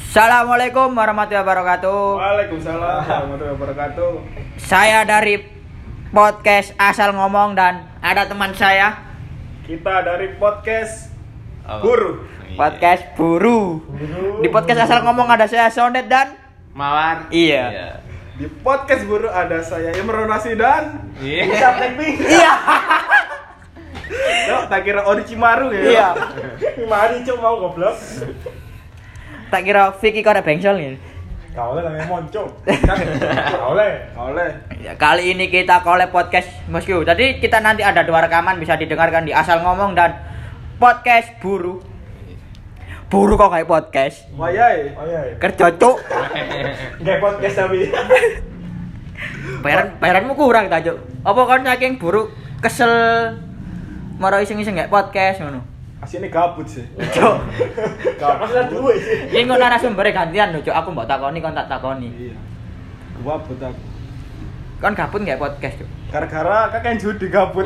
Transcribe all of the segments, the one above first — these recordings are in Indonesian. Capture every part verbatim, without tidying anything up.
Assalamualaikum warahmatullahi wabarakatuh. Waalaikumsalam warahmatullahi wabarakatuh. Saya dari podcast Asal Ngomong dan ada teman saya. Kita dari podcast Apa? Guru. Podcast Buru. Guru. Di podcast Asal Ngomong ada saya Sonet dan Mawar. Iya. Di podcast Guru ada saya Imron Nasi dan Iya. Siap Blackpink. Iya. Yo, tak kira Orochimaru ya. Iya. Mari cuk mau goblok. Tak kira Vicky kau ada bengsol nih. Kau le namanya moncok. Kau le, kau le. Ya, kali ini kita collab podcast Mosku. Jadi kita nanti ada dua rekaman bisa didengarkan di Asal Ngomong dan podcast Buru. Buru kok kayak podcast. Wayai, wayai. Kerja cuk. Kayak podcast tapi. Bayaran bayaranmu kurang ta cuk. Apa kon saking buru kesel maro iseng-iseng kayak podcast ngono. Asine gabut sih. Cuk. Gak masalah duwe sih. Iki kok narasumber gantian lho cuk. Aku mbok takoni kon tak takoni. Iya. Gabut aku. Kon gabut kayak podcast cuk. Gara-gara kakek judi gabut.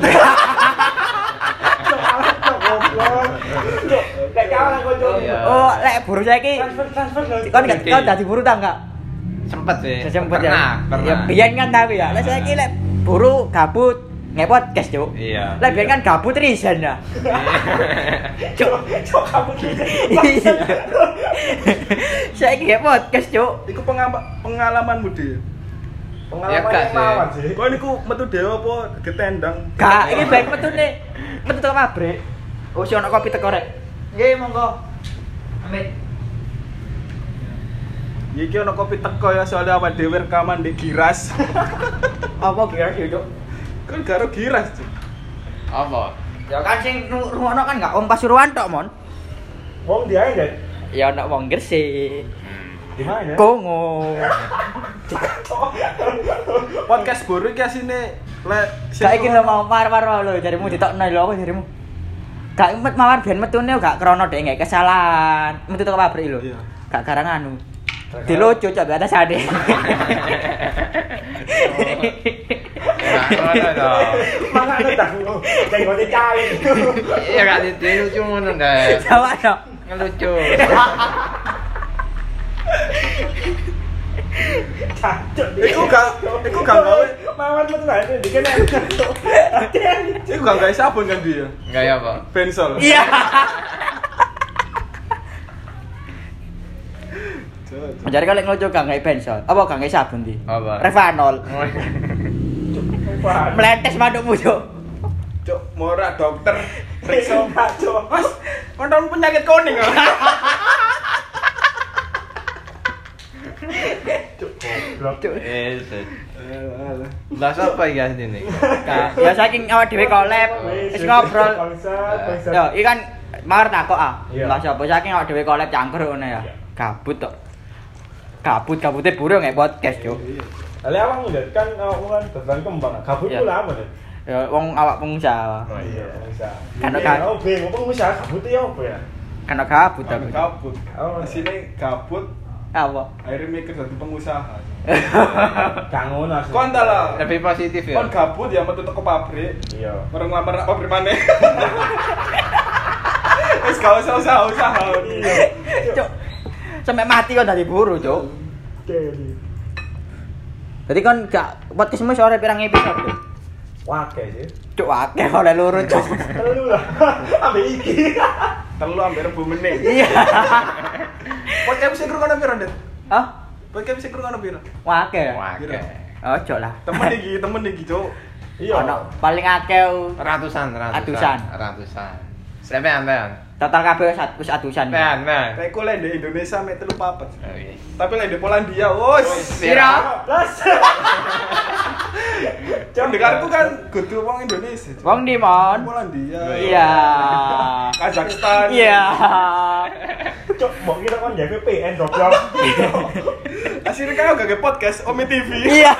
Kayak kawan kok cuk. Iya. Oh, lek buru saiki Transfer transfer lho. kon gak kau dadi buru ta enggak? Sempet sih. Sempet pernah, ya. Pernah. Ya biyen kan tapi ya. Lek saiki lek buru gabut nge podcast cuk. Iya. Lek biyen kan gabut resign ya. Cuk, Cuk gabut. iya. Saiki nge podcast cuk. Iku pengam- pengalamanmu dia. Ya, gak sih. mawar sih. Kok niku metu dhewe apa getendang? Gak, iki baik metune. Metu teko pabrik. Oh, si ono kopi teko rek. Nggih, monggo. Amit. Iki ono kopi teko ya soalnya awake dhewe rekaman di Giras. Apa kira sih, Cuk? Kan karo Giras, Cuk. Apa? Ya kan sing rungono kan gak Om Pasuruan tok, Mon. Wong dia aja. Ya ono wong Gresik. Di mana? Kongo. Podcast Buru iki asine lek Gak iki lho mau mar-mar lho jarimu ditokno lho apa jarimu. Gak met mawar ben metune gak krono dek gak kesalahan. Metu teko pabrik lho. Iya. Gak garang anu. Dilucu coba atas ade. Enggak ada dong. Makane tak ngono. Kayak ngono cai. Iya gak di lucu ngono deh. Sama dong. Ngelucu. Cacuk. Iku gak iku gak gawe mawar metu ae dikene. Iku gak gawe sabun kan dia. Enggak ya, Pak. Bensol. Iya. Mencari kali ngelucu gak ngai bensol. Apa gak ngai sabun di? Apa? Revanol. Meletes mandukmu, Cuk. Cuk, morak dokter. Periksa Cuk. Mas, konton penyakit kuning. Cuk, goblok. Cuk. Eh, bahas apa ya ini? Nah, ya saking awak dhewe collab, wis ngobrol. Yo, iki kan mawar takok ah. Iya. Lah sapa saking awak dhewe collab cangkur ngono ya. Gabut tok. Gabut gabute buru nggak podcast, Cuk. Lah awakmu Dad, kan awakmu kan terbang kembang. Gabut Iya. ku lha apa, Dad? Ya wong awak pengusaha. Oh iya, bisa. Kan Kan kan- oh bingung pengusaha gabut ya apa ya? Kan gabut aku. Gabut. Oh, asine gabut, Apa? akhirnya mikir jadi pengusaha. Gak ngono asli. Kon ta lah. Lebih positif ya. Kon gabut ya metu teko pabrik. Iya. Mereng lamar nak pabrik maneh. Wis gak usah usaha-usaha. Iya. Cuk. Sampai mati kok dari buru, Cuk. Jadi. Jadi kan gak podcastmu sore pirang episode, Cuk. Wake sih. Cuk akeh oleh loro, Cuk. Telu lah. Ambek iki. Telu ambil rebu meneh. Iya. Podcast sing krungono piro, Dit? Hah? Podcast sing krungono piro? Akeh. Wah, Piro? Ojo lah. Temen iki, temen iki, Cuk. Iya. Ono paling akeh ratusan, ratusan. Atusan. Ratusan. Sampean, sampean. total kabeh wis at- wis atusan. Sampean, sampean. Kayak ku lek di Indonesia mek telu papat. Oh, iya. Tapi lek di Polandia, wos. Pira? Plus. Jam dengarku kan kudu wong Indonesia. Cuk. Wong di mon. Polandia. Iya. Kazakhstan. Iya. Cok, mbok kira kon J V P N goblok. Akhirnya kan gak podcast Omi T V. Iya.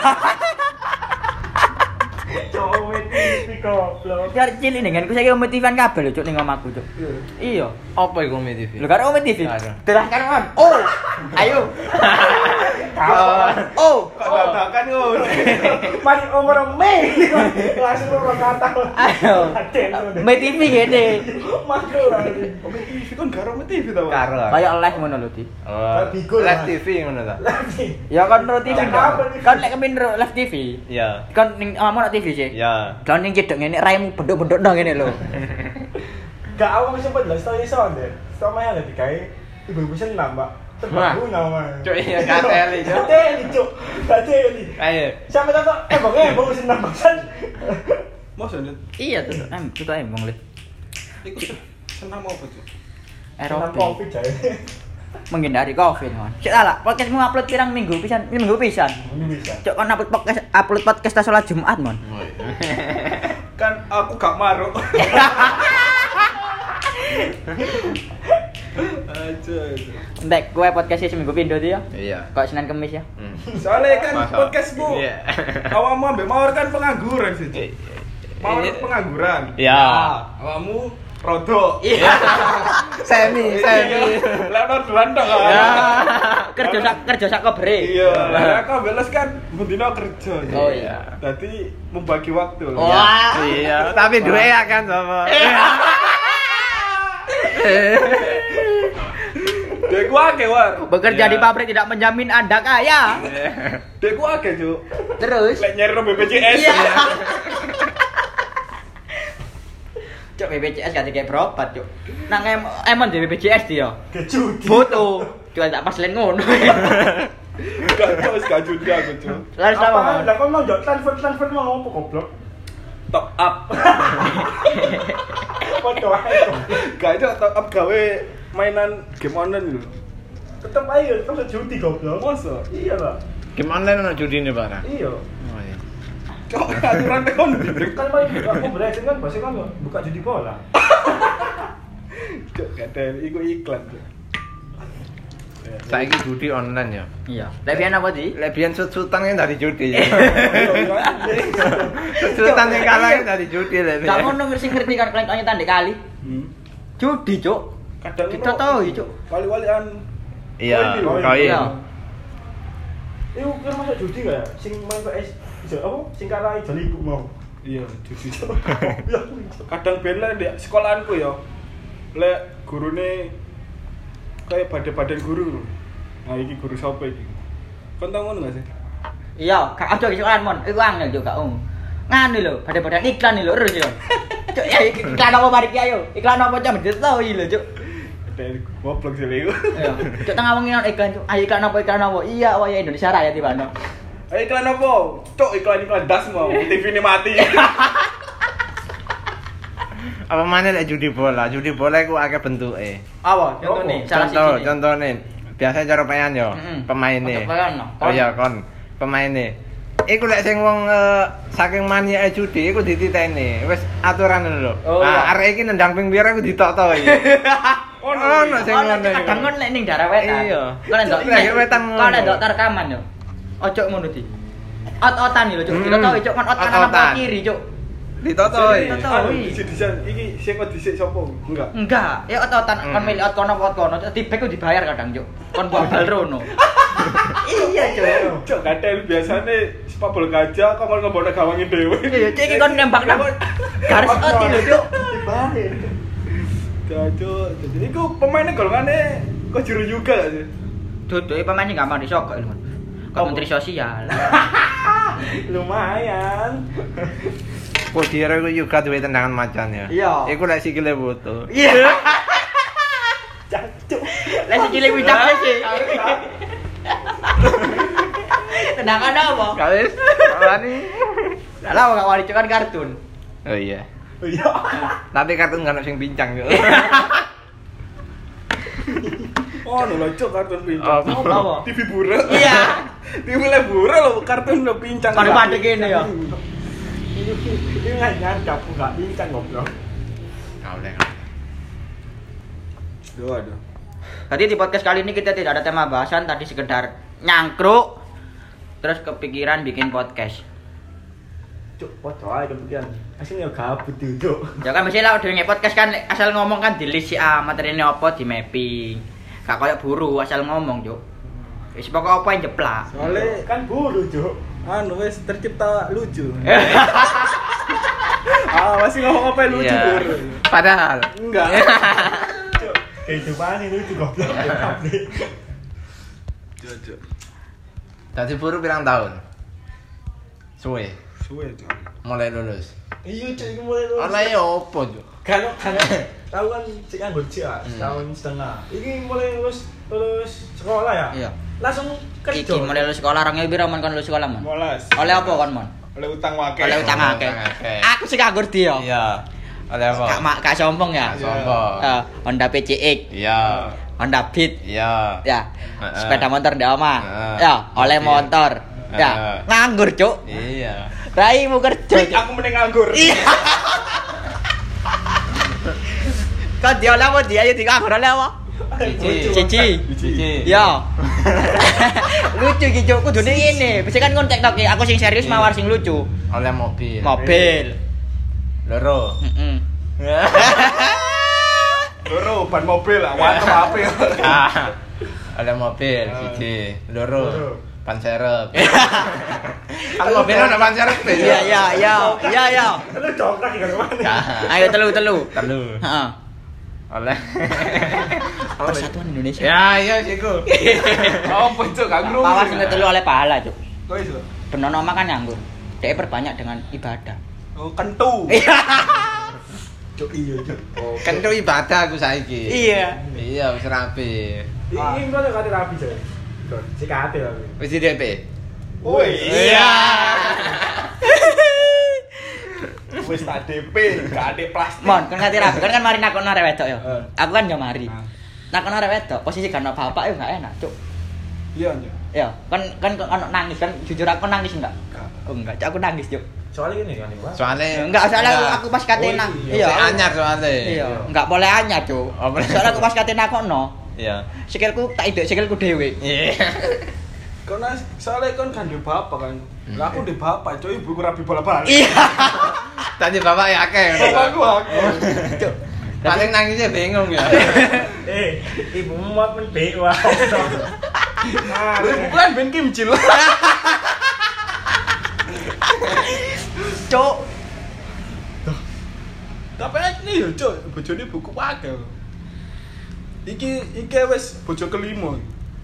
Cok, T V goblok. Biar cilik dengan ku saiki motivan kabeh lho cuk ning omahku cuk. Iya. Apa iku Umi T V? Lho karo Om T V. Karo. Terus kan on. Oh. Ayo. Oh, Kok dadakan ngono. Mari omong me. Langsung orang kata. ayo. Me T V gini. Makro lagi. Oke, T V kan garo T V ta, Pak? Karo. Kayak live ngono lho, Di. Oh, Bigo lah. live T V ngono ta? Lagi. Ya kan ro T V. Apa nih? Kan lek kemin ro live T V. Iya. Kan ning amamu nak T V sih. Ya. Kan ning cedek ngene raimu bendok-bendok nang ngene lho. Gak awak sempat lah story sound deh. Sama yang ada dikai ibu-ibu senam, Pak. Terbangun nama. Cuk iya kateli, Cuk. Kateli, Cuk. Kateli. Ayo. Sampai tahu eh bang, eh bang senam baksan. Masa Dit? Iya tuh, em tuh emang le. Iku senam apa, Cuk? Senam Aerobik. covid aja. Menghindari Covid, man. Sik lah, podcastmu upload pirang minggu pisan? Minggu pisan. Ini bisa. Cok kan upload podcast upload podcast tas salat Jumat, mon. Kan aku gak maruk. Aja. Ndek kowe podcast seminggu pindho tuh ya. Iya. Kok Senin Kamis ya? Hmm. Soalnya kan Masa? podcastmu. Iya. Awakmu ambek mawar kan pengangguran sih, Cuk. Iya. Mawar pengangguran. Iya. Awakmu rodok. Iya. Semi, semi. Lah orderan tok kan. Ya. Kerja sak kerja sak kobre. Iya, lah aku beles kan bendino kerja. Oh iya. Dadi membagi waktu. Oh. Wah. Iya, tapi duwe ya kan sama. Dekku akeh, War. Bekerja Iya. di pabrik tidak menjamin Anda kaya. Dekku akeh, Cuk. Terus Lek nyari B P J S. Iya. Cok B P J S gak kayak berobat, Cok. Nang em emon di B P J S dia. Kejudi. Foto. Jual tak pas len ngono. Gak tau wis gak judi aku, Cuk. Lalu sama. Apa? Lah kok mau jok transfer transfer mau ngomong goblok. Top up. Foto aja. Gak itu top up gawe mainan game online lho. Tetep aja, tetep judi goblok. Masa? Iya, Pak. Game online ono judine, Pak. Iya. Oh iya. Cok aturan kon. Kan paling aku berhasil kan pasti kan buka judi bola. Cok kadang iku iklan, Cok. Saiki judi online ya. Iya. Lek pian apa sih? Lek biyen sut-sutan kan dari judi ya. Sut-sutan yang kalah kan dari judi lek. Gak ngono ngerti ngerti kan kalian tanya tandek kali. Hmm. Judi, Cok. Kadang Kita tahu, Cok. Wali-walian. Iya, Oh, koin. Iya. Iku kan masa judi gak ya? Sing main P S iso apa? Sing kalah ijo ibu mau. Iya, judi. Ya. Kadang ben lek di sekolahanku ya. Lek gurune kayak badan-badan guru. Nah, iki guru sapa iki? Kon tau ngono gak sih? Iya, gak ada isokan, Mon. Iku angel juga, Om. Nganu lho, badan-badan iklan lho, terus yo. Cok, ya iklan apa mari ki ayo? Iklan apa cok ditahu lho, Cok. Dari goblok sih lego. Iya. Cok tengah wong iklan, Cok. Ayo iklan apa iklan apa? Iya, wah ya Indonesia Raya tiba-tiba. Ayo iklan apa? Cok iklan-iklan das mau. T V ini mati. Apa mana lek judi bola? Judi bola iku akeh bentuke. Apa? Contohnya, salah Contoh, siji. contohnya biasanya cara pemain yo, Heeh. pemainnya. Untuk pemain, no. Oh iya kon, pemainnya. Iku lek sing wong eh, saking maniake judi iku dititeni. Wis aturan lho. Oh, iya. Nah, arek iki nendang ping pira iku ditok-tok iki. Ono, Ono sing Oh, ngono iku. kadang kon lek ning daerah wetan. Iya. Kon ndok Lek lek wetan ngono. Kon ndok rekaman yo. Ojo ngono di. Ot-otan lho, Cok. Hmm. Kita tahu, Cok, kon ot kanan apa Ot-otan. kiri, Cok. Ditok-tok iki. Ditok-tok. Anu dhisik-dhisik iki sing kok dhisik sapa? Enggak. Enggak, ya ot-otan Hmm. kon milih ot kono ot kono, di back ku dibayar kadang, Cok. Kon buat bal rono. Iya, Cok. Cok kadang biasane sepabol gajah kok mau ngomongno gawange dhewe. Iya, Cok, iki kon nembak nang garis ot lho, Cok. Dibalik. Cok, jadi iku pemainnya golongane kok juru juga gak sih? Duduke pemain sing gampang disogok lho. Kok menteri sosial. Lumayan. Kodira iku juga duwe tendangan macan ya. Iya. Iku lek sikile foto. Iya. Jancuk. Lah sikile widakne sih. Tendangan apa? Kawis. Wani. Lah gak wani Cok, kan kartun. Oh iya. Iya. Tapi kartun gak ono sing pincang yo. Oh, lho cok kartun Oh, pincang. apa? T V burak. Iya. T V le burak lho kartun lho pincang. Kode pandek kene ya. Ini ini nggak nyangka aku nggak pincang goblok. Kau lek. Duh, aduh. Jadi di podcast kali ini kita tidak ada tema bahasan, tadi sekedar nyangkruk terus kepikiran bikin podcast. Cuk, foto aja demikian. Aslinya gabut tuh, Cuk. Ya kan misalnya udah nge podcast kan asal ngomong kan di list si A materinya apa di mapping. Gak kayak buru asal ngomong, Cuk. Wis pokok apa yang jeplak. Soalnya Kan buru, Cuk. anu wis tercipta lucu. Ah, masih ngomong apa yang lucu, Iya. Bur? Padahal Enggak. Cuk, kehidupan ini lucu goblok. Cuk. Dadi buru pirang tahun? Suwe, Suwe, Cuk. mulai lulus. Iya, Cuk, iki mulai lulus. Oleh ya opo, Cuk? Kan kan tahu kan sik nganggur sik ah, Hmm. setahun setengah. Iki mulai lulus lulus sekolah ya? Iya. Langsung kerja. Iki mulai lulus sekolah orang piro mon kon lulus sekolah mon? Molas. Oleh apa kon mon? Oleh utang wakil. Oleh utang Oh, akeh. utang akeh. Aku sih nganggur dia. Iya. Oleh apa? Kak mak kak sombong ya. Sombong. Eh, Honda P C X, Iya. Honda Beat, Iya. ya. Heeh. Sepeda motor di omah. Heeh. Ya, oleh Mobil. motor. Ya, Heeh. nganggur, Cuk. Iya. Raimu kerja. Cuk, Cuk. aku mending nganggur. Iya. Kau dia oleh apa dia ya nganggur oleh apa? Cici. Cici. Cici. Ya. Lucu iki, Cuk. Kudune ngene. Bisa kan kon TikTok aku sing serius Iya. mawar sing lucu. Oleh mobil. Mobil. Loro. Heeh. Loro ban mobil, wantem ape. Ah. Oleh mobil siji. Loro. Loro. Ban serep. Kan mobilnya udah ban serep tuh. Iya, iya, iya. Iya, iya. Lu cokrak iki kan mana? Nah, Ayo telu telu. telu. Heeh. Oleh. Persatuan Indonesia. Ya, iya siku. Oh, Cuk, nganggur. Pawas sing telu oleh pahala, Cuk. Kok iso? Benono mah kan nganggur. Dia perbanyak dengan ibadah. Oh, kentu. Cuk iya, Cuk. Oh, Kan itu ibadah aku saiki. Iya. Iya, wis rapi. Iki ngono kate rapi, Cuk. Cuk, sik ate aku. Wis di D P. Woi. Iya. Wis tak D P, gak ada plastik. Mon, kan ngerti rapi, kan kan mari nakon arek wedok ya. Eh. Aku kan yo mari. Ah. Nakon arek wedok, posisi kan bapak yo gak enak, Cuk. Iya, Cuk. Ya, kan kan ono nangis kan jujur aku nangis enggak? Gak. Oh enggak, Cuk, aku nangis, Cuk. Soalnya gini kan, Pak. Soalnya Enggak, soalnya aku, aku pas kate Oh, nang. iya. Iya. Sik aku- anyar soalnya. Iya, enggak boleh anyar, Cuk. Oh, boleh. Soalnya aku pas kate nakono, Iya. sikilku tak idek sikilku dhewe. Iya. Karena soalnya kan kan di bapak kan. Lah aku di bapak, Cuk, ibuku rapi bola-balik. Iya. Tadi bapak ya akeh. Bapakku aku. Cuk. Paling nangisnya bingung ya. Eh, ibu muat men B wae. Nah, Lu ibuku kan ben kimcil. Cuk. Tapi ini yo, Cuk, bojone buku wakil. Iki iki wis bojo kelima.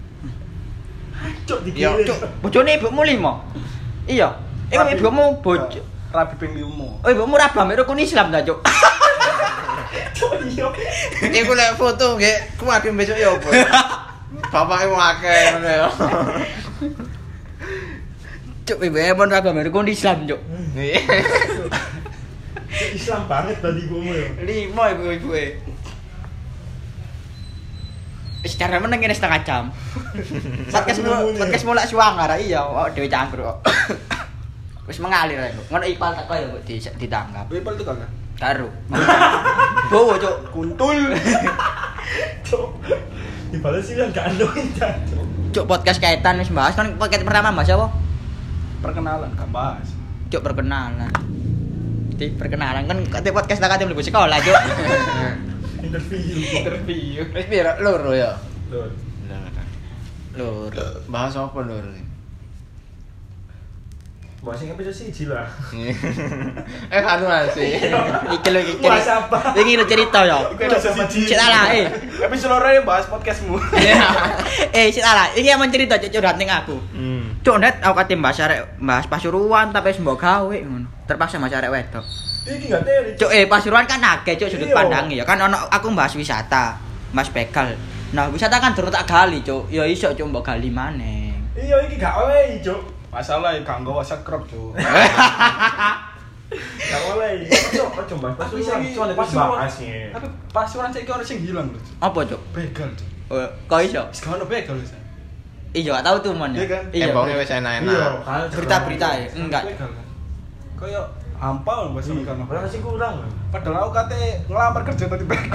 Cuk Yo, dikirim. Cuk, bojone ibumu limo. Iya. Iku Rabi- ibumu bojo. Rabi ping lima. Oh, ibumu rabah mek rukun Islam ta, Cuk? Cuk iya. Iku lek foto nggih kuwatir besok ya opo. Bapake wong akeh ngono ya. Cuk, ibumu mon rabah mek rukun Islam, Cuk. Islam banget tadi ibumu ya. Limo ibu-ibuke. Wis cara meneng ngene setengah jam. Podcast mu podcast mulak suwangar iya, kok dhewe cangkruk kok. Wis mengalir ae. Ngono ipal tak koyo kok di ditangkap. Wipel tuh kan. Karo. Bowo, Cuk. Kuntul. Cuk. Dibalas sih kan gak andoin Cuk. Cuk, podcast kaitan wis bahas kan podcast pertama Mas apa? Perkenalan kan bahas. Cuk, perkenalan. Di perkenalan kan kate podcast tak kate mlebu sekolah, Cuk. Interview. Interview. Wis piro loro ya. Lur. Lur. Bahas apa lur? Bahas sing episode siji lah. Eh anu sih. Iki lho iki. Bahas apa? Iki lho cerita ya. Iku ada siji. Cek salah, eh. Episode loro yang bahas podcastmu. Eh, sik salah. Iki yang mencerita Cuk curhat ning aku. Hmm. Cuk, net aku kate bahas arek bahas Pasuruan tapi wis mbok gawe ngono. Terpaksa mas arek wedok. Iki gak teri. Cuk, eh Pasuruan kan akeh Cuk sudut Iya. pandangnya ya. Kan ono aku bahas wisata, Mas begal. Nah, wisata kan durung tak gali, Cuk. Ya iso Cuk mbok gali maneh. Iya iki gak oleh, Cuk. Masalah ya gak nggawa sekrop, Cuk. Gak oleh. Cuk, ojo mbahas Tapi Pasuruan. sing Soalnya pas bahasnya. Tapi pasuruan saiki ono sing hilang lho. Cuk. Apa, Cuk? Begal, Cuk. Oh, kok iso? Wis gak ono begal wis. Iya, gak tahu tuh mon. Iya kan? Iya. Embongnya wis Iya, enak-enak. kan. Berita-berita ya. Enggak. Begal kan. Kayak hampa lho bahasa Iya, kan. padahal sih kurang. Padahal aku kate ngelamar kerja tadi begal.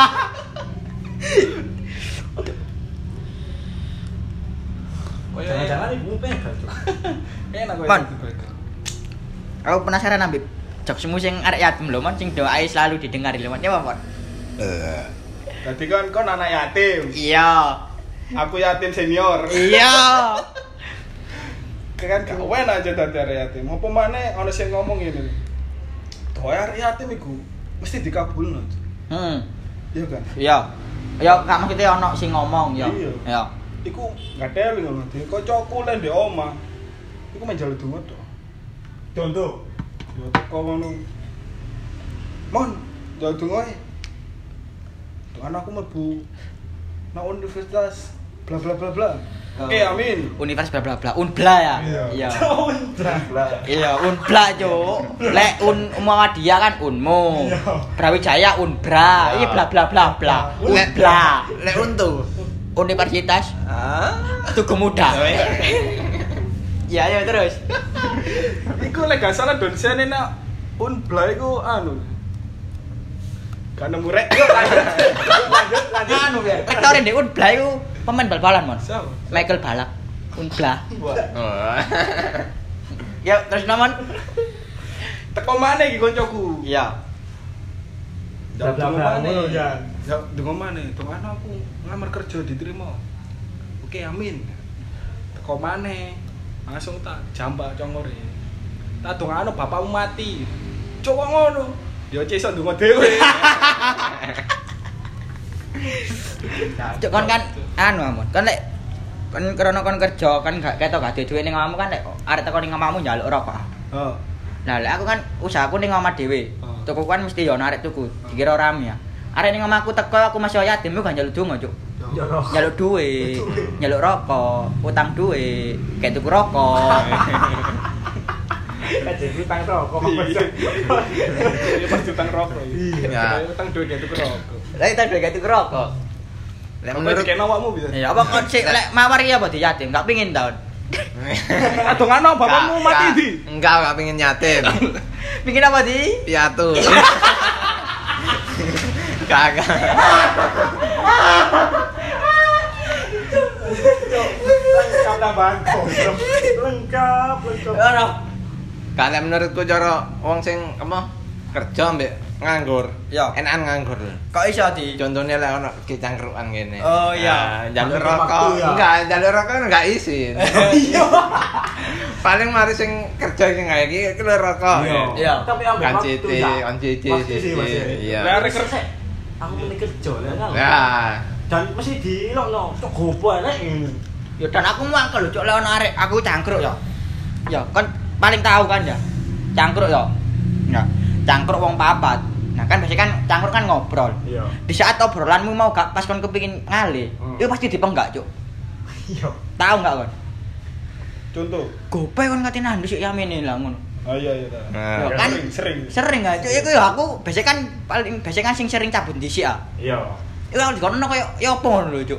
Jangan-jangan ibu pegang, Cuk. Enak kok Pan. tadi begal. Aku penasaran ambek jokesmu sing arek yatim lho, mon sing doae selalu didengar lho, mon. Ya, Mon. Jadi kan kon anak yatim. Iya. Aku yatim senior. Iya. Kan gak enak aja dadi arek yatim. Apa maneh ana sing ngomong ngene. Doa arek yatim iku mesti dikabulno. Hmm. Iya kan? Iya. Ya gak maksudnya ono sing ngomong ya. Iya. Ya. Iku gak teli ngono. Di kancaku lek ndek omah. Iku main jalu donga tok. Contoh. Yo teko ngono. Mon, jalu donga ae. Tuh anakku mlebu nang universitas bla bla bla bla. Oke, amin. Univers bla bla bla. Unbla ya. Iya. Unbla. Iya, Unbla, Cuk. Lek Un Muhammadiyah kan Unmu. Iya. Brawijaya Unbra. Iki bla bla bla bla. Unbla. Lek untu. Universitas Ah. Tugu Muda. Iya, ya terus. Iku lek gak salah donsene nak Unbla iku anu. Gak nemu rek. Lanjut, lanjut, lanjut. Anu ya. Rektor ndek Unbla iku pemain bal-balan, Mon. Siapa? Michael Balak. Unbla. Wah. Oh. Ya, terus namon. Teko maneh iki koncoku. Iya. Bla bla bla ngono ya. Ya, dengan mana? Dengan aku ngamar kerja diterima. Oke, amin. Teko maneh. Langsung tak jambak congore. Tak dongano bapakmu mati. Coba ngono. Dia iso ndonga dhewe. Cuk kon kan anu amun. Kon lek kon krana kon kerja kan gak ketok gak duwe ning omahmu kan lek arek teko ning omahmu njaluk rokok. Heeh. Lah lek aku kan usahaku ning omah dhewe. Oh. Tuku kan mesti yo arek tuku. Dikira rame ya. Arek ning omahku teko aku masih yatim gak njaluk donga, Cuk. Jorok. Njaluk duwe, njaluk rokok, utang duwe, kayak tuku rokok. Kan jadi utang rokok. Dia pas utang rokok. Iya. Dia utang duit dia tuku rokok. Lah itu duwe kayak tuku rokok. Lek Menurut menurut kena awakmu bisa. Ya apa kon sik lek mawar ya apa di yatim, gak pengin taun. Ah dongano bapakmu Enggak, mati enggak. di. Enggak, enggak pengen yatim. Pengin apa di? Piatu. Kagak. Lengkap tambahan kondom. Lengkap, lengkap. Ora. Kalau menurutku cara wong sing apa kerja mbek nganggur. Ya. Enakan nganggur. Kok iso di? Contohnya lek ono kecangkruan ngene. Oh, iya. Nah, jalur Ambil rokok. waktu, ya. Enggak, jalur rokok enggak izin. Iya. Paling mari sing kerja sing kayak iki iki lho rokok. Iya. Tapi ambil Kan waktu citi, ya. on cici, Pasti sih, Mas. ya. Iya. Lah arek kerja. Aku mending kerja ya kan. Ya. Dan mesti dilokno. Cok gopo arek ngene. Ya dan aku mangkel lho cuk lek ono arek aku cangkruk ya. Ya kan paling tahu kan ya. Cangkruk ya. Ya, cangkruk wong papat. Nah kan biasanya kan cangkruk kan ngobrol. Iya. Di saat obrolanmu mau gak pas kon kepengin ngalih, Hmm. itu pasti dipenggak, Cuk. Iya. Tahu enggak kon? Contoh. Gope kon ngati nandus sik yamene lah ngono. Ah iya iya. dah. Nah. Ya, Ya, kan sering sering. sering gak, Cuk. Iku ya aku biasanya kan paling biasanya kan sing sering cabut dhisik ah. Iya. Iku kalau dikono koyo ya apa ngono lho, Cuk.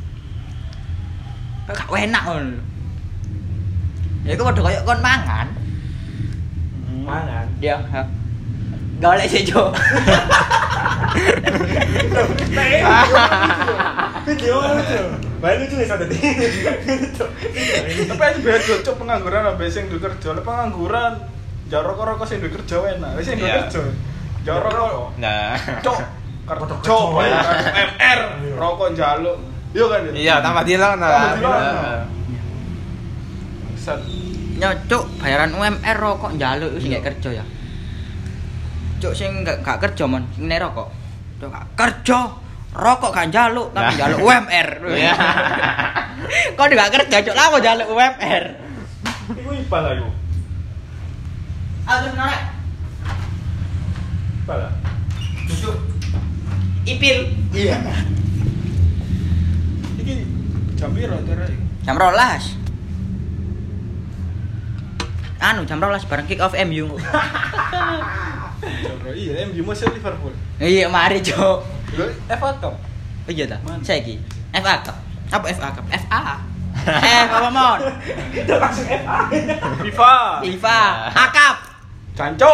Gak enak ngono lho. Ya iku padha koyo kon mangan. Mangan. Ya, ha. Golek sih, Cuk. Video lucu. Bae lucu wis tadi. Tapi aja beda cuk pengangguran ambek sing duwe kerja. Lek pengangguran jar rokok-rokok sing duwe kerja enak. Wis sing duwe Iya. kerja. Jar rokok. Nah. Cuk. Kerja bayar U M R, rokok njaluk. Iya kan ya? Iya, tambah dilok nah. Tambah dilokno. Set. Ya, Cuk, bayaran U M R rokok njaluk iku sing gak kerja ya. Cuk sing gak, gak kerja mon, sing nek rokok. Cuk gak kerja, rokok gak njaluk tapi Nah. njaluk U M R. Iya. Kok gak kerja, Cuk, lah kok njaluk U M R. Iku ipal lah iku. Aduh, norek. Ipal lah. Duduk. Ipil. Iya. Iki jam piro terai? Jam rolas. Anu jam rolas bareng kick off M U. Jam piro? Iya, M U masih Liverpool. Iya, mari, Cuk. Lho, F A Cup. Oh iya ta. Mana? Saiki F A Cup. Apa F A Cup? F A. F apa mon? Udah langsung F A. FIFA. FIFA. Akap. Cancuk.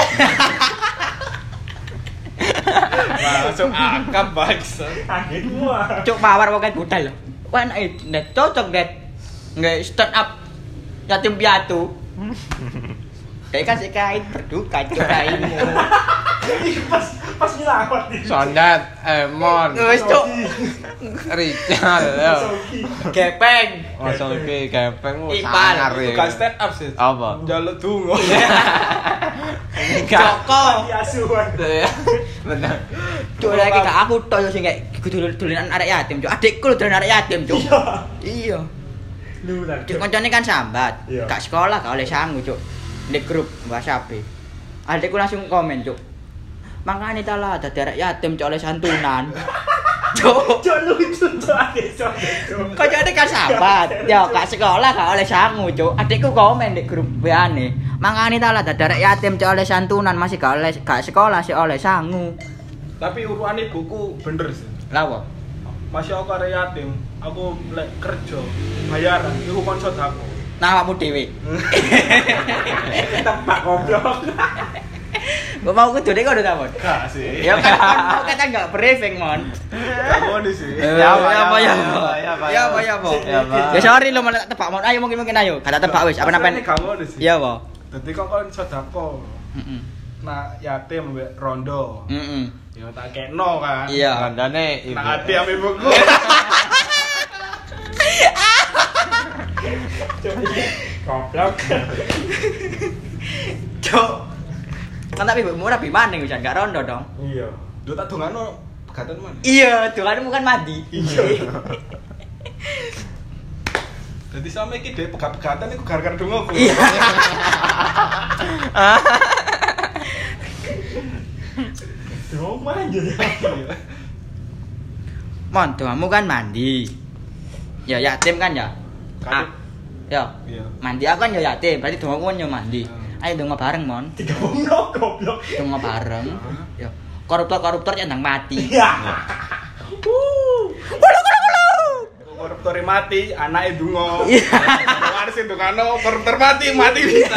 Langsung akap bangsa. Kaget gua. Cuk mawar pokoke budal lho. Wah enak e, net cocok net. Nggak stand up yatim piatu. Kayak kasih kain berduka cuk kainmu. Pas pas nyelawat nih. Sondat, Emon, Wis cuk. Richard, yo. Gepeng. Langsung iki gepeng Ipal. sangar Itu kan stand up sih. Apa? Njaluk donga. Joko. Asuhan. Bener. Cuk lagi gak aku tok yo sing kayak dolanan arek yatim cuk. Adikku lho dolanan arek yatim cuk. Iya. Lu tak. Cuk koncone kan sambat. Iya. Gak sekolah gak oleh sangu cuk. Di grup WhatsApp. Adikku langsung komen cuk. Makane ta lah dadi arek yatim cuk oleh santunan. Cuk. Cuk lucu cuk adek cuk. Koncone kan sambat. Yo gak sekolah gak oleh sangu cuk. Adikku komen di grup W A-ne. Makane ta lah dadi arek yatim cuk oleh santunan masih gak oleh gak sekolah sih oleh sangu. Tapi uruan ibuku bener sih. Lah apa? Masih aku arek yatim, aku lek kerja bayaran iku kon sedako. Nah awakmu dhewe. Tempat goblok. Gua mau kudune kok udah ta, Mon? Gak sih. Ya kan kan mau kata enggak briefing, Mon. Gak ngono sih. Ya apa ya apa ya apa. Ya apa, Ya apa ya apa. Ya apa. Ya sorry lo malah tak tebak, Mon. Ayo mungkin mungkin ayo. Kata tebak wis apa Asline napen? gak ngono sih. Iya, apa? Dadi kok kon sedako. Heeh. Nah, yatim mbek rondo. Heeh. Ya tak kekno kan. Iya. Kandane ibu. Nah, ati ame ibuku. Goblok. Cuk. Kan tapi ibumu rapi maning wis gak rondo dong. Iya. Lho tak dongano pegatan mana? Iya, doanmu kan mandi. Iya. Dadi sampe iki dhek pegat-pegatan iku gara-gara dongaku. Iya. Tuh manjur ya. Mon, doamu kan mandi. Ya yatim kan ya? Ah. Ya. Iya. Mandi aku kan ya yatim, berarti doaku kan ya mandi. Ayo donga bareng, Mon. Tiga bongno goblok. Donga bareng. Ya. Koruptor-koruptor yang mati. Iya. Koruptor mati, anake donga. Iya. Wong sing dongano koruptor mati, mati bisa.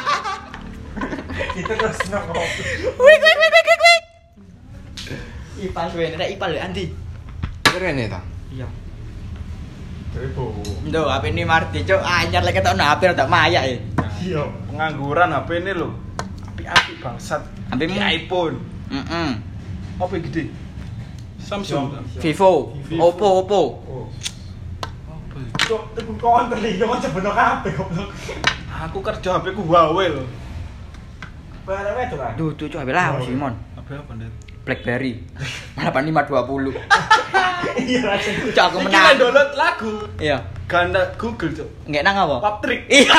Kita terus ngobrol. Wik wik wik wik wik. Ipal suwe nek ipal lho Andi. Keren ta? Iya. Ribu. Ndo H P ini Marti, cuk. Anyar lek ketokno H P rada mayak e. Iya. Pengangguran H P ini lho. Api-api bangsat. H P-mu? Iki iPhone. Heeh. Apa yang gede? Samsung. Vivo, Vivo. Oppo, Oppo. Oh. Apa? Cuk, tuku kon terlihat kon sebeno kabeh goblok. Aku kerja H P ku Huawei lho. Barang itu kan. Duh, tuh cuk H P lah Simon. H P apa, Ndet? BlackBerry delapan lima dua nol. Iya langsung. Cuk aku Iki menang. download lagu. Iya. Ganda Google, Cuk. Nggak nang apa? Pop trick. Iya.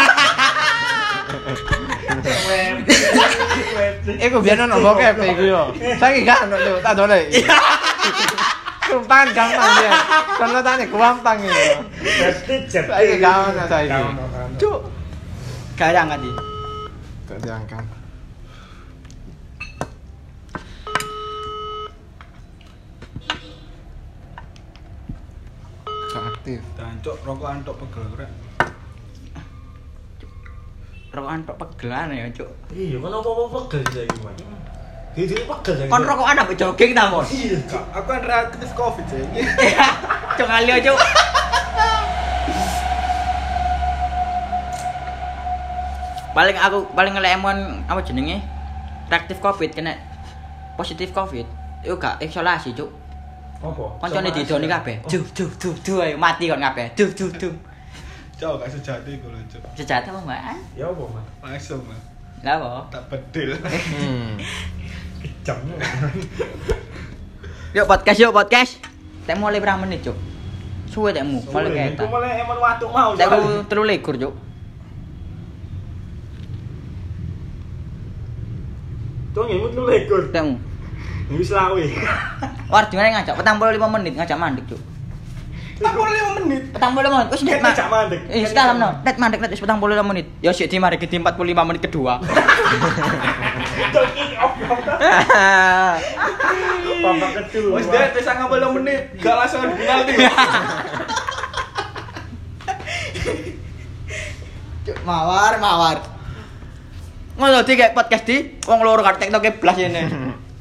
Web. Iku biyen ono bokep iku yo. Saiki gak ono Cuk, tak dolek. Sumpah gampang ya. Downloadane gampang iki. Jet. Saiki gak ono saiki. Cuk. Garang ati. Gak diangkat. Gak aktif. Dan Cuk, rokokan tok pegel rek. Rokokan tok pegelan ya, Cuk. Iya, kan apa-apa pegel saiki, Mas. Gitu pegel saiki. Kon rokokan ambek jogging ta, Mon? Iya. Kak, aku kan reaktif Covid ya iki. Cuk ali Cuk. Paling aku paling ngelemon apa jenenge? Reaktif Covid kena positif Covid. Iku gak isolasi, Cuk. Apa? Koncone didoni kabeh. Duh duh duh duh ayo mati kon kabeh. Duh duh duh. Cuk, gak sejati iku lho, Cuk. Sejati apa, Mbak? Ya apa, Mas? Langsung, Mas. Lah apa? Tak bedil. Hmm. Kejam. Yuk podcast yuk podcast. Tek mulai berapa menit, Cuk? Suwe tekmu, paling Iku keta. malah emang watuk mau. Tekmu telu likur, Cuk. Cuk nyemut lu lekor. Tekmu. Wis lawe. War dingane ngajak petang puluh lima menit ngajak mandek, Cuk. Tak puluh lima menit. Petang puluh lima menit. Wis net Ngajak mandek. Eh, sekalam no. Net mandek net wis petang puluh lima menit. Ya sik di mari ke empat puluh lima menit kedua. Cuk kick off. Babak kedua. Wis deh, wis sangat puluh menit. Gak langsung penalti. Cuk, mawar, mawar. Ngono di kayak podcast di wong loro karo TikTok blas ini.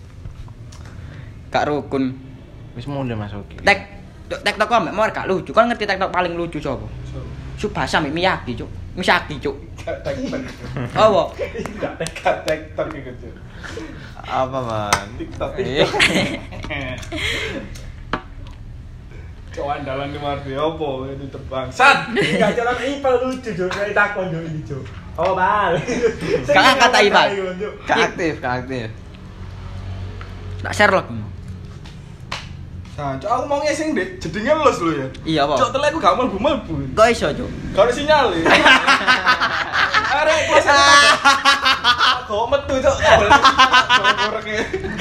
Gak rukun. Wis mulai masuk. Tek TikTok kok mbak mawar gak lucu. Kan ngerti TikTok paling lucu sapa? Subasa mbek Miyagi, Cuk. Misaki, Cuk. TikTok. Oh, Enggak TikTok TikTok iku, Cuk. Apa, Man? TikTok. Iya. Cok andalan di Marti opo itu terbangsat. Enggak jalan ipal lucu Cuk, kayak takon Cuk ini Cuk. Oh, bal. Gak kata ipal. Gak aktif, gak aktif. Tak Sherlock. Nah, cok aku mau ngesing deh, jedingnya los lho ya. Iya, apa? Cok telek aku gak mlebu-mlebu. Kok iso, Cuk? Gak ada sinyal ya. Arek kelas kok metu cok. Gorek-gorek.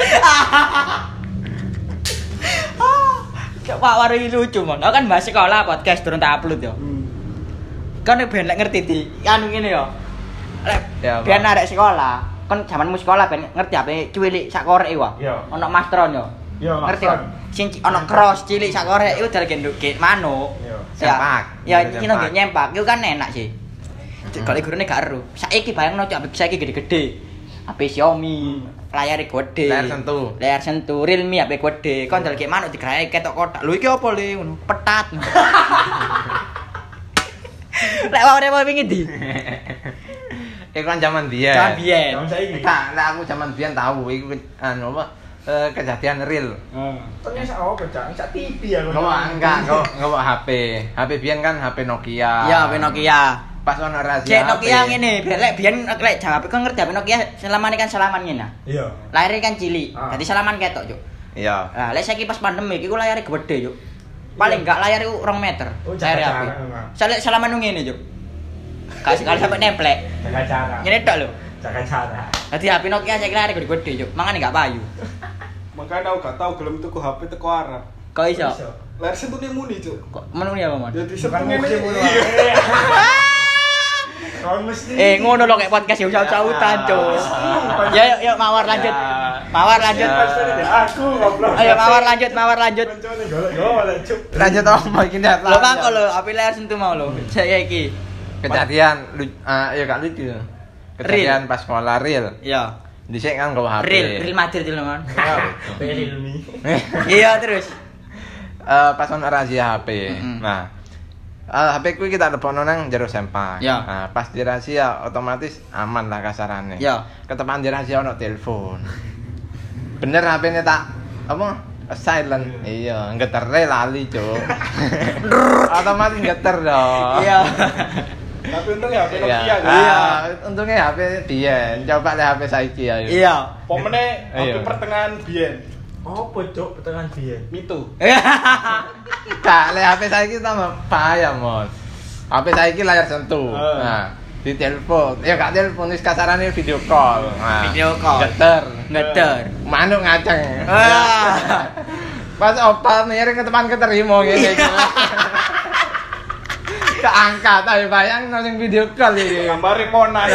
Cuk, Pak Wari lucu, Mon. Aku kan bahas sekolah podcast turun tak upload yo. Kan ben lek ngerti di anu ngene yo. Lek Ya, ben Pak. arek sekolah, kan zamanmu sekolah ben ngerti ape cuwilik sak korek wae. Iya. Ono mastron yo. Iya, Ngerti mastron. kok? Sing ci- ono cross cilik sak korek iku dal genduk ge manuk. Iya. Sempak. Ya, Iya, iki nang sempak. nyempak iku kan enak sih. Kalau gurune gak ero. Saiki bayangno cok saiki gede-gede. H P Xiaomi, layare gede. Layar sentuh. Layar sentuh, Realme H P gede. Kon dal ge manuk digrae ketok kotak. Lho iki apa le ngono? Petat. Lek wae wae wingi ndi? Iku kan zaman biyen. Zaman biyen. Tahun saiki. Kak, lah aku zaman biyen tahu iku anu apa eh, kejadian real. Heeh. Ternyata sak apa Cak? Sak T V ya. Enggak, enggak, enggak, enggak H P. H P biyen kan H P Nokia. Iya, H P Nokia. Pas ono razia. Cek H P. Nokia ngene, lek biyen lek H P kon ngerti H P Nokia selamane kan salaman ngene. Iya. Layare kan cilik. Ah. Dadi salaman ketok, Cuk. Iya. Nah, lek saiki pas pandemi iku layare gede, Cuk. Paling enggak layar iku rong meter. Oh, Layar jaga H P. jarak, memang. Salek salaman nu ngene, Cuk. Kasih kali sampai nemplek. Jaga jarak. Ngene tok lho. Jaga jarak. Dadi H P Nokia saiki layare gede-gede, Cuk. Mangane gak payu. Makanya aku gak tau gelem tuku H P teko Arab. Kok iso? Layar sentune muni, Cuk. Kok menung ya, Mon? Jadi Bukan sentuh ngene. musim ngono. Kon mesti. Eh, ngono lho kayak podcast ya usaha-usahutan, Cuk. Ya, yuk, yuk mawar lanjut. Mawar lanjut. Aku goblok. Ayo mawar lanjut, mawar lanjut. Koncone golek-golek Cuk. Lanjut apa iki ndak? Lho mangko lho, api layar sentuh mau lho. Saya iki. Kejadian lu ah ya gak lucu. Kejadian pas sekolah real. Iya. Dhisik kan nggawa H P. Real, real Madrid lho, Mon. Pelilmi. Iya, terus. Eh pas ono razia H P. Mm-mm. Nah, eh, H P ku kita lebokno nang jero sempak. Ya. Nah, pas dirazia otomatis aman lah kasarane. Ya. Ketepan dirazia ono telepon. Bener H P-ne tak apa? Silent. Iya, getere lali, Cuk. Otomatis geter dong. Iya. Tapi untungnya H P Iya. Nokia kan. Iya, untungnya H P biyen. Coba lihat H P saiki ayo. Iya. Pomene H P Iya. pertengahan biyen. Apa Cuk pertengahan biyen? Mitu. Kak, lihat H P saiki tambah bahaya, Mon. H P saiki layar sentuh. Eh. Nah, di telepon. Ya gak telepon wis kasarane video call. Nah, Video call. Geter. Ngeter. Manuk ngaceng. Ah. Pas opa miring ke depan keterima ngene iki. Keangkat ayo bayang nang video call iki. Gambare Monas.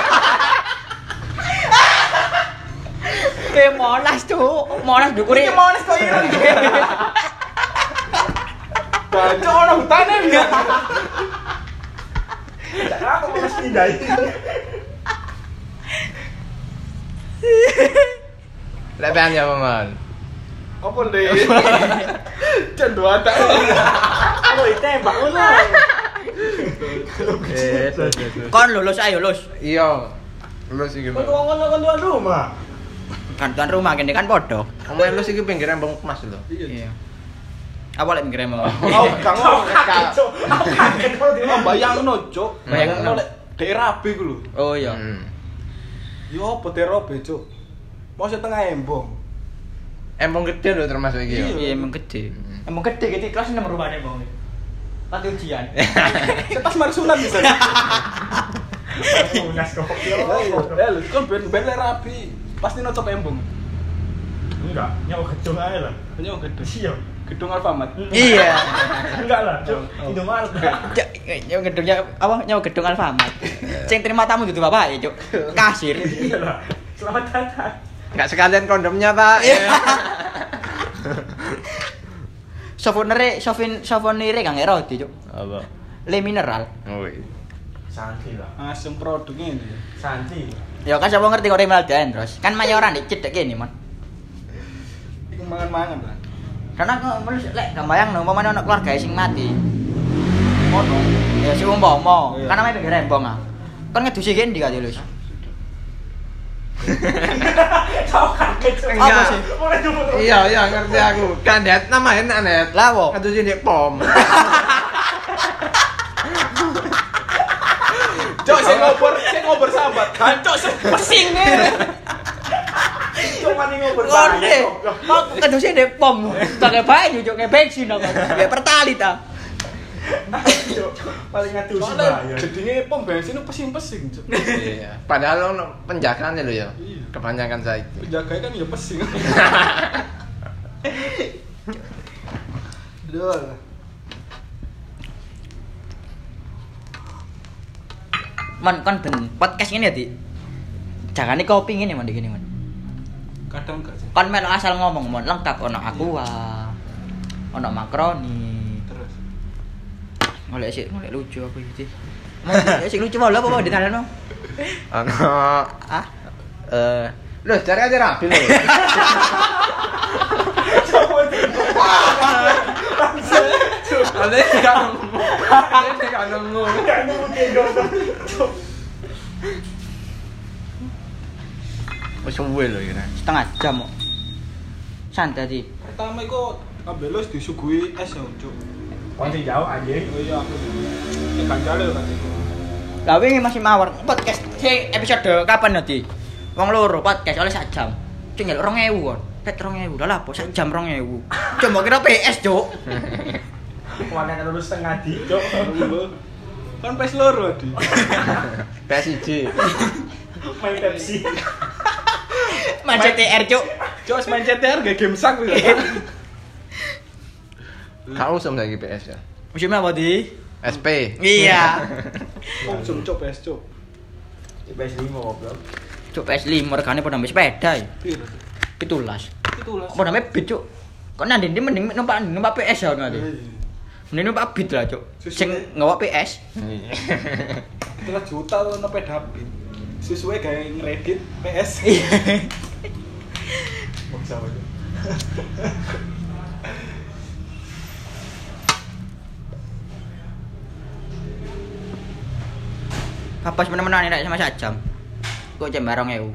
Eh Monas, Cuk. Monas dukure. Iki Monas kok ireng. Bacok ono hutane ya. Kenapa kok mesti pindah ini? Lepean ya, Mon. Apa le? Cendol ada. Oh, ditembak ngono. Kon lulus ayo lulus. Iya. Lulus iki. Kok wong ngono kon tuan rumah. Kan tuan rumah kene kan podo. Omae lulus iki pinggir embong emas lho. Iya. Apa lek ngira mau? Oh, gak ngono. Cuk. Aku kaget kok di Oh, bayangno, Cuk. Bayangno. Bayangno lek daerah B ku lho. Oh iya. Hmm. Yo apa daerah B, Cuk? Mosok tengah embong. Embong gede lho termasuk iki. Iya. Iya emang gede. Emang gede gede kelas enam rumahnya mau. Pati ujian. Setas marsunan bisa. Unas kok. Ya, lho, kon ben ben lek rabi. Pasti nocop embong. Enggak, nyawa gedung ae lah. Hanya gedung. Iya. Gedung Alfamart. Iya. Enggak lah, Cuk. Indomaret. Nyawa gedungnya apa? Nyawa gedung Alfamart. Sing terima tamu dudu bapak ya, Cuk. Kasir. Iya lah. Selamat datang. Enggak sekalian kondomnya, Pak. Souvenir, souvin, souvenir kang roti, Cuk. Apa? Le mineral. Oh. Santi lah. Langsung produknya ini. Santi. Ya kan siapa ngerti kok mineral dan terus. Kan mayoran dicedek kene, Mon. Iku mangan-mangan lah. Karena aku menurut lek gak bayang no, umpamane ana keluarga sing mati. ngono. Ya si umpama, Iya. kan namanya pinggir rembong ah. Kan ngedusi kene ndi kate lho. Kau kaget Cuk. Apa sih? Mulai dulu. Iya, iya ngerti aku. Kan Net nama enak Net. Lah wo. Katu sini pom. Cok sing ngobrol, sing ngobrol sambat. Kancok sing pesing ngene. Cuma nih ngobrol Ngene. Kok kedusi ndek pom. Pakai banyu cuk kayak bensin aku. Ya pertalit ah. paling ngadu sih Soalnya bahaya. jadinya pom bensin itu pesing-pesing, Cok. Iya. Padahal ono penjagaannya lho ya. Iya. Kebanyakan saya. Penjaganya kan ya pesing. Dol. Man kan ben podcast ini ya, Di. Jangan nih kopi ngene man gini man. Kadang gak sih. Kon melu asal ngomong mon lengkap ono aqua. Ono makroni. Terus. Golek sik, golek lucu aku iki. Mau sik lucu mau lho apa di dalan mau? Ono Ah, eh lho cari aja rapi lho. Ada kan. Ada kan nemu. Gak nemu gendong. Cuk. Wis suwe lho iki. setengah jam kok. Santai di. Pertama iku ambelos disuguhi es ya, Cok. Kon sing jauh anjing. Oh iya aku. Ya kan jale kan iku. Lah wingi masih mawar podcast sing episode kapan nanti? Wong loro podcast oleh sak jam. Cuk nyeluk dua ribu kon. Pet dua ribu. Lah apa sak jam dua ribu. Cuma kira P S, Cuk. Warnet lulus setengah di. Cuk. Kan pes loro di. P S I J. Main Pepsi. Main C T R, Cuk. Cok main C T R gak game sak lho. Kau usum lagi P S ya. Musimnya apa di? S P. Iya. Konsum Cok P S Cok. P S lima goblok. Cuk P S lima regane padha mbek sepeda ya. Piro? Pitulas. Itulah. Apa namanya beat, Cuk? Kok nanti dia mending numpak numpak P S ya nanti. Mending numpak beat lah, Cuk. Sing nggawa P S. Itulah juta lo nopo dapet. Sesuai kayak ngeredit P S. Iya. Bangsa aja. Papas menemenan nek sama sak jam. Kok jam barong ewu.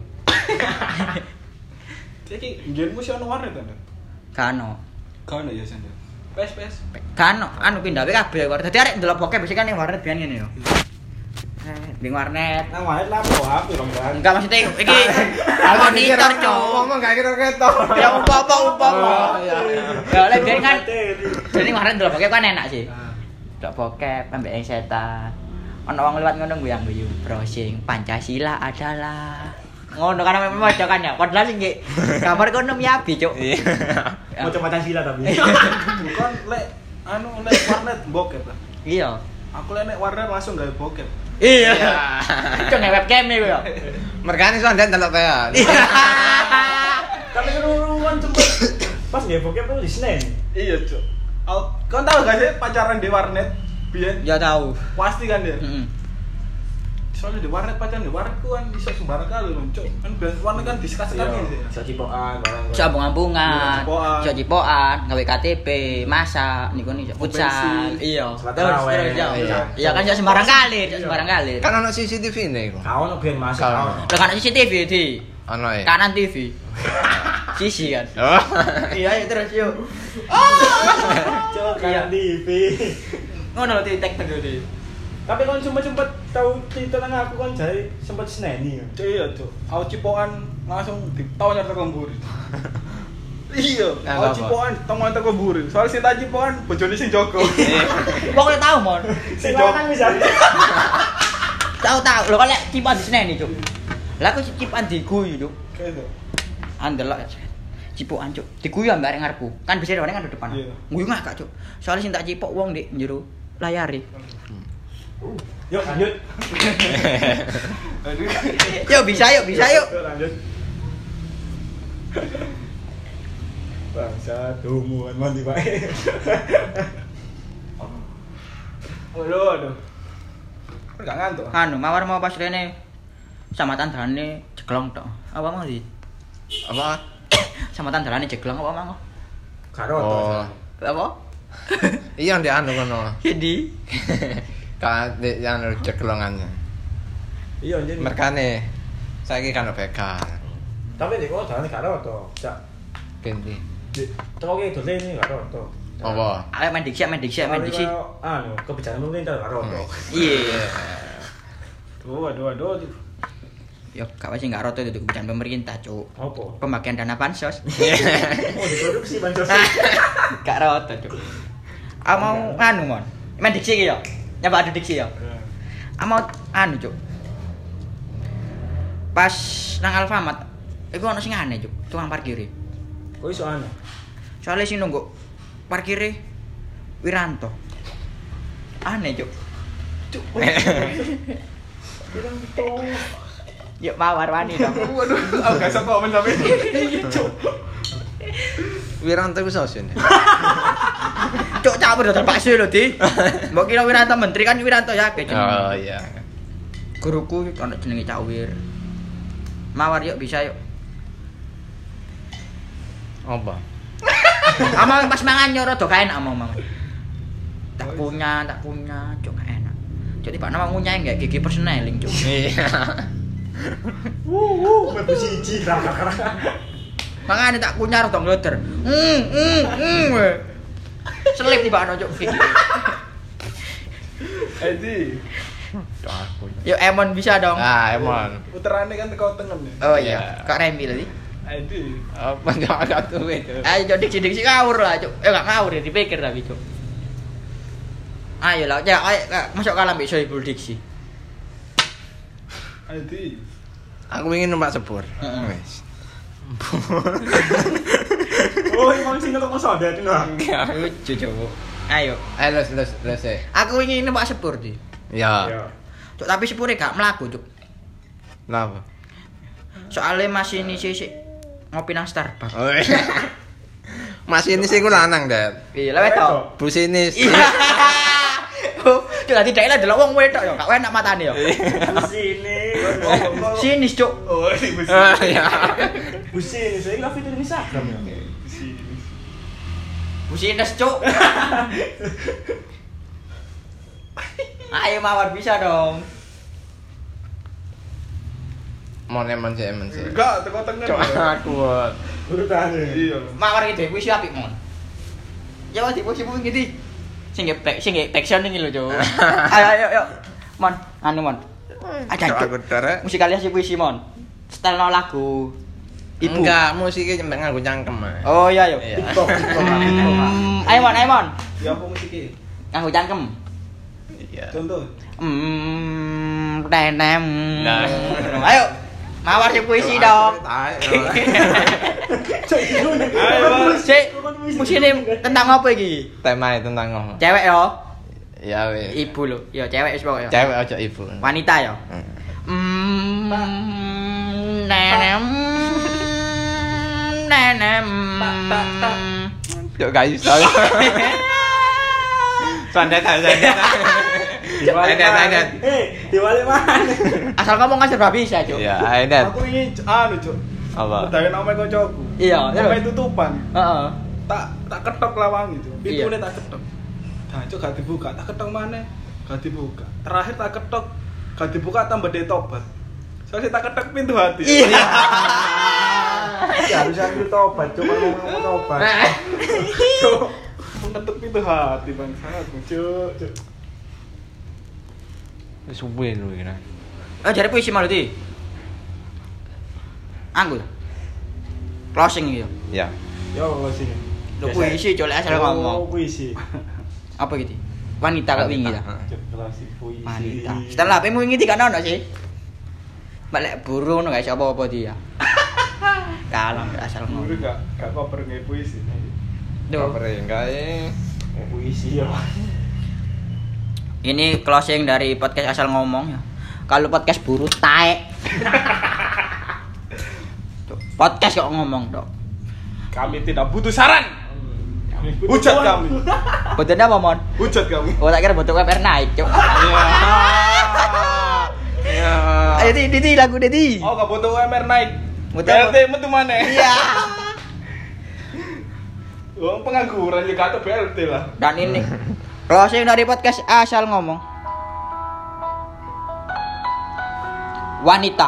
Iki nggenmu sih ono warnet ta? Kano. Kan ya sendiri. P S P S. Kano anu pindah wae kabeh warnet. Dadi arek ndelok bokep mesti kan ning warnet biyen ngene yo. Eh, ning warnet. Nang warnet lah po H P dong kan. Enggak maksudnya iki monitor, Cuk. Ngomong gak kira-kira. Ya umpama umpama. Iya. Ya lek biyen kan jadi warnet ndelok bokep kan enak sih. Ndelok bokep ambek setan. Ono wong liwat ngono guyang-guyu, browsing Pancasila adalah ngono kan memang maca kan ya. Padahal sing nggih kamar kono miyabi, Cuk. Iya. Mau coba Pancasila tapi. Bukan lek anu lek warnet bokep lah. Iya. Aku lek nek warnet langsung gawe bokep. Iya. Cuk nge webcam iki yo. Mergane iso ndak ndelok kae. Tapi keruruan cepet. Pas nggak bokep tuh di Senen. Iya, Cok. Kau tahu gak sih pacaran di warnet? Biyen Ya tahu. pasti kan dia. Heeh. Soalnya di warnet pacaran di warnet ku kan bisa sembarang kali loh, Cok. Kan biasa warnet kan diskas-sekas sih. Bisa cipokan barang. Iso ambung-ambungan, Cipokan. iso cipokan, gawe K T P, masak, niku niku futsal. Bensin. Iya. Sholat Terus tarawih. terus ya. Iya. Iya kan iso sembarang kali, iso sembarang kali. Kan ono C C T V ne iku. Kau nak biar masuk. Kau. Kau. Lah kan C C T V di Ono e. kanan T V. Sisi kan. Oh. Iya, ayo terus yuk. Cok Iya. kan T V. Ngono di tek tek di. Tapi kon sempet-sempet tahu cerita nang aku kon jare sempet seneni. Cok iya, Cok. Aku cipokan langsung ditawar teko mburi. Iya, Nah, aku apa? cipokan tawar teko mburi. Soalnya sing tak cipokan bojone sing jogo. Pokoknya tahu mon. Sing lanang bisa. Tahu tahu. Lo kan lek cipan di sini Cuk. Lah aku cipan diguyu, Cuk. Kayak Andelok cipokan, Cuk. Diguyu ambek arek ngarepku. Kan bisa rene kan di depan. Iya. Guyu ngakak, Cuk. Soalnya sing tak cipok wong di njero layare. Yuk lanjut. Aduh. Yuk bisa yuk, bisa yuk. Yuk lanjut. Bangsa dumuan mandi bae. Aduh, aduh. Kok gak ngantuk? Anu, mawar mau pas rene sama tandane jeglong tok. Apa mau di? Apa? Sama tandane jeglong apa mau? Karo Oh. Apa? Iya ndek anu ngono. Jadi Ka ndek anu cekelongannya. Iya jadi. Merkane saiki kan begal. Tapi nek kok jane gak roto. Cak. Ganti. Toko ki dolen iki gak roto. Apa? ayo main diksi, main diksi, main diksi. Anu, kebijakan pemerintah gak roto. Iya. Tuh, aduh aduh. Yo, gak wis enggak roto itu kebijakan pemerintah, Cuk. Apa? Pemakaian dana bansos. Oh, diproduksi bansos. Gak roto, Cuk. Ah mau anu, Mon. Main diksi iki yo. Nyoba adu diksi yo. Ah mau anu, Cuk. Pas nang Alfamart, iku ono sing aneh, Cuk. Tukang parkir. Kok iso aneh? Soalnya sing nunggu parkire Wiranto. Aneh, Cuk. Cuk. Wiranto. Yuk mawar wani dong. Waduh, aku gak iso komen sampe. Iya, Cuk. Wiranto ku sosun. Cuk campur dodol bakso lho, Di. Mbok kira Wiranto menteri kan Wiranto ya ke jeneng. Oh iya. Guruku ono jenenge Cak Wir. Mawar yuk bisa yuk. Apa? Ama pas mangan nyoro do kaen ama mama. Tak punya, tak punya, cuk gak enak. Cuk tiba nama ngunyah enggak gigi personeling, Cuk. Iya. Wuh, wuh, metu siji ra. Mangane tak kunyah rada ngloder. Hmm, hmm, hmm. Selip tiba ana Cuk gigi. Edi, Aku. Yuk Emon bisa dong. Ah, emon. puterane kan teko tengen ya. Oh Iya. iya, Kak Remi tadi. Edi. Apa jangan agak tuh itu. Ayo Cuk diksi-diksi ngawur lah, Cuk. Eh enggak ngawur ya dipikir tapi, Cuk. Ayo lah, ya ayo masuk kalah mbek Sohibul Diksi. Edi. Aku ingin numpak sepur. Heeh. Wes. Oh, emang sing ngelok masa ada itu nah. Lucu, Cuk. Ayo. Ayo les les les. eh. Aku ingin numpak sepur, Di. Ya. Ya. Cuk, tapi sepure gak mlaku, Cuk. Kenapa? Soalnya masih ini sih sih ngopi nang Starbucks. Oh, iya. Masih ini sih ku lanang, Det. Iya, lewat tok. Businis. Iya. Oh, dadi dhek lah delok wong wedok ya, gak enak matane ya. Sini. Sinis, Cuk. Oh, ini besi. Ah, ya. Busi ini saya nggak fitur Instagram ya. Besi. Busines, Cuk. Ayo mawar bisa dong. Mon emon sih emon sih. Enggak, teko tengen. Cok aku. Urutan Iya. Mawar iki puisi apik, Mon. Ya wis puisi puisi ngene. Sing nge back sing nge backsound iki lho, Cuk. Ayo ayo ayo. Mon, anu Mon. Aja Cok aku Cuk. derek. Musikalisasi puisi, Mon. Setelno lagu Ibu. Enggak, musiknya nyembek nganggo cangkem. Mas. Oh iya, yuk. Iya. TikTok, TikTok, TikTok. Hmm, ayo Mon, ayo Mon. Ya apa musik Nganggo cangkem. Iya. Contoh. Hmm, tenem. Nah. Ayo. Mawar sing puisi dong. Cok, itu nih. Ayo, Sik, musine tentang apa iki? Tema tentang ngomong. Cewek yo. Ya wis. Ibu lho. Yo cewek wis pokoke. Cewek aja ibu. Wanita yo. Hmm. Hmm, nenem. Nenem. Cok gak iso. Sandet sandet. Diwali Sandet mana? sandet. Eh, diwali mana? Asal ngomong aja serba bisa, Cuk. Ya, Aidet. Aku ingin anu, Cuk. Apa? Udahin nama kocokku. Iya, Nama iya. tutupan. Heeh. Tak tak ketok lawang itu. Iya. Pintune tak ketok. Nah, Cuk gak dibuka, tak ketok mana? Gak dibuka. Terakhir tak ketok, gak dibuka tambah de tobat. Soalnya tak ketok pintu hati. Iya. Ya harus ambil tobat, cuma ngomong tobat. Cuk. Mengetuk pintu hati bang sangat Cuk. Cuk. Wis suwe lho iki. Oh, jare puisi malu di. Anggur. Closing iki yo. Ya. Yo, sini. Lho puisi colek asal ngomong. Oh, puisi. Apa gitu? Wanita kok wingi ta? Cok, klasik puisi. Wanita. Setelah apa wingi tidak ono sih? Balik burung no guys apa-apa dia. Kalah asal Guru ngomong. gak gak koper nge puisi. Duh. Kapre gae. Oh, puisi ya. Ini closing dari podcast asal ngomong ya. Kalau podcast buru taek. Tuh, podcast kok ngomong, Dok. Kami tidak butuh saran. Kami Hujat kami. Betul apa, Mon? Hujat kami. Oh, tak kira bentuk W P R naik, Cuk. Ya. Ayo di di lagu Dedi. Oh, gak butuh U M R naik. Butuh B L T apa? metu mana? Iya. Wong pengangguran ya gak B L T lah. Dan ini closing dari podcast asal ngomong. Wanita,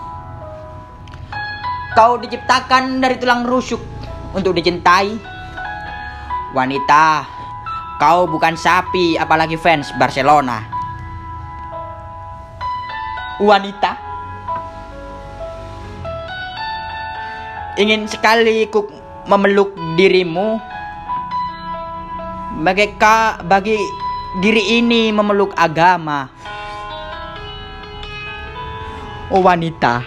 kau diciptakan dari tulang rusuk untuk dicintai. Wanita, kau bukan sapi apalagi fans Barcelona. Wanita, ingin sekali ku memeluk dirimu. Bagi, ka, bagi diri ini memeluk agama. Oh wanita,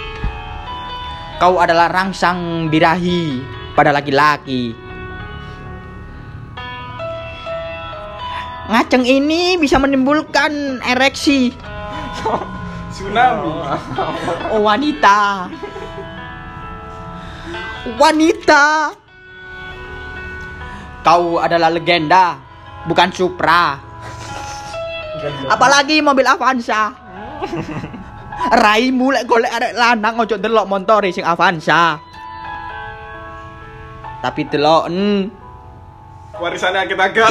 kau adalah rangsang birahi pada laki-laki. Ngaceng ini bisa menimbulkan ereksi. Tsunami. Oh wanita, wanita, kau adalah legenda, bukan Supra. Apalagi mobil Avanza. Raimu lek golek arek lanang ojo delok montore sing Avanza. Tapi deloken Warisannya kita agak.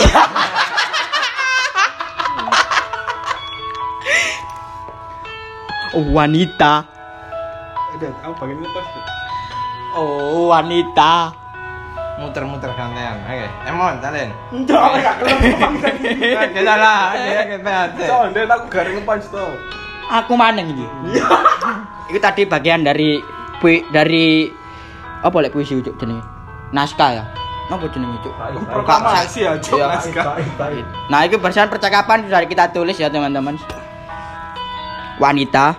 oh, wanita. Udah, aku bagian lepas. Oh, wanita. Muter-muter gantian. Oke, Emon, talen. Enggak, gak kelem Kita lah, dia kita. So, ndek aku garing punch to. Aku maneng iki. Itu tadi bagian dari pui, dari apa lek puisi cuk jenenge? Naskah ya. Napa jenenge cuk? Proklamasi ya, Cuk. Iya. Naskah. Nah, itu berdasarkan percakapan sudah kita tulis ya, teman-teman. Wanita,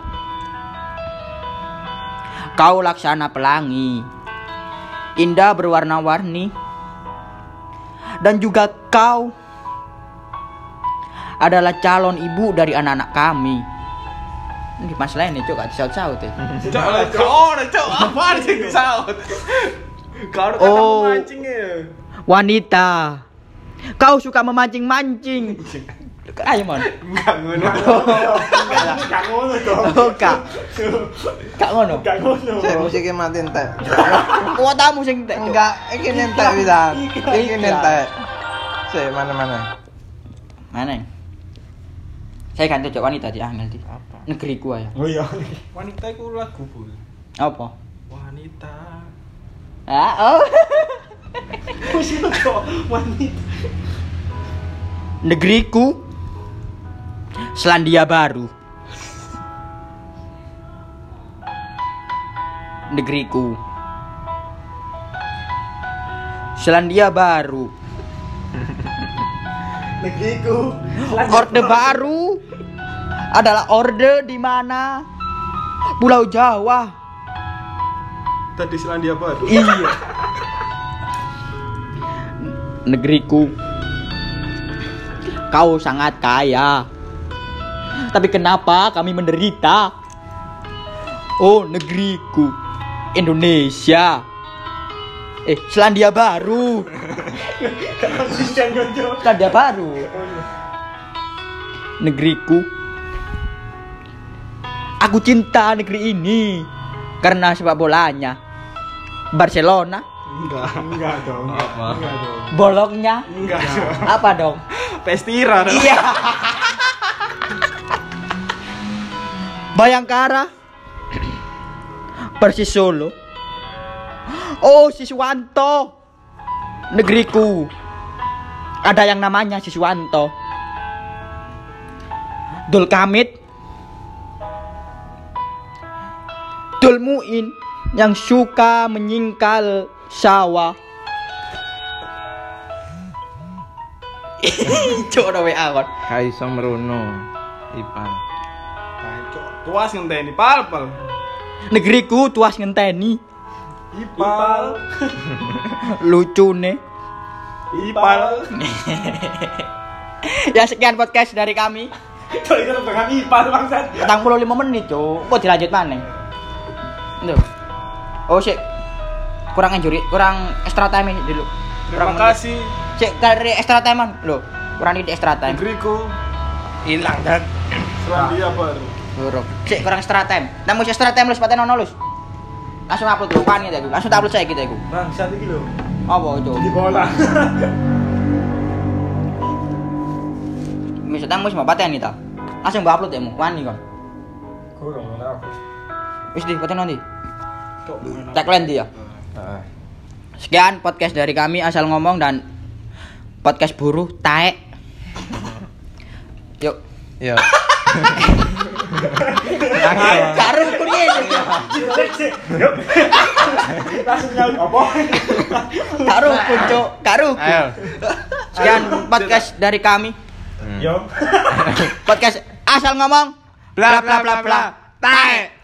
kau laksana pelangi, indah berwarna-warni. Dan juga kau adalah calon ibu dari anak-anak kami. Ini masalah ini cuk, gak disaut-saut ya. Cuk, cuk, oh, cuk, apaan sih disaut? Kau kata Oh. memancing ya. Wanita, kau suka memancing-mancing. Ayo mon. Enggak ngono. Gak ngono dong. Oh, kak. Kak ngono. Gak ngono. Saya musiknya mati entek. Kuotamu sing entek. Cuk. Enggak, iki nentek bisa. Iki nentek. Saya mana-mana. Mana? Saya ganti cok wanita di angel di. Apa? Negeriku aja. Oh iya. Wanita itu lagu, Bu. Apa? Wanita. Ah, oh. Wis itu kok wanita. Negeriku Selandia Baru. Negeriku Selandia Baru. Negeriku. Orde Baru adalah orde di mana Pulau Jawa. Tadi Selandia Baru. Iya. Negeriku, kau sangat kaya. Tapi kenapa kami menderita? Oh, negeriku, Indonesia. Eh, Selandia Baru. Konsisten Gonjo. Selandia Baru. Negeriku. Aku cinta negeri ini karena sepak bolanya. Barcelona. Enggak. Enggak dong. Apa? Enggak dong. Bolongnya. Enggak. Apa dong? Pestira. Iya. Bayangkara. Persis Solo. Oh, Siswanto. Negeriku. Ada yang namanya Siswanto. Dulkamit. Dulmuin yang suka menyingkal sawah. Coba W A kon. Kaiso merono. Ipan. Cuk, tuas ngenteni pal-pal. Negeriku tuas ngenteni. Ipal. Lucune. Ipal. Ya sekian podcast dari kami. Itu itu dengan ipal bangsat. Petang puluh lima menit, Cuk. Kok dilanjut maneh? Duh. Oh, sik. Kurang injury, kurang extra time dulu. Terima Kurang kasih. Cek dari extra time man. Loh, kurang di extra time. Negeriku Hilang dan Selandia Baru. Buruk. Cek kurang extra time. Namun extra time lu sepatnya nono lus. Langsung upload lu pan gitu. Langsung tak upload saya gitu aku. Bangsat iki lho. Apa itu? Di bola. Misalnya wis mau pateni ta. Langsung mbak upload ya mu. Wani kon. Kurang ora aku. Wis di pateni nanti. Cok, enak. Tagline dia. Heeh. Sekian podcast dari kami asal ngomong dan podcast buruh taek. Yuk. Yo. Karo kuwi. Yuk. Langsung nyaut apa? Karo kunco, karo. Ayo. Sekian podcast dari kami. Hmm. Yo. Podcast asal ngomong Bla bla bla bla. Taek.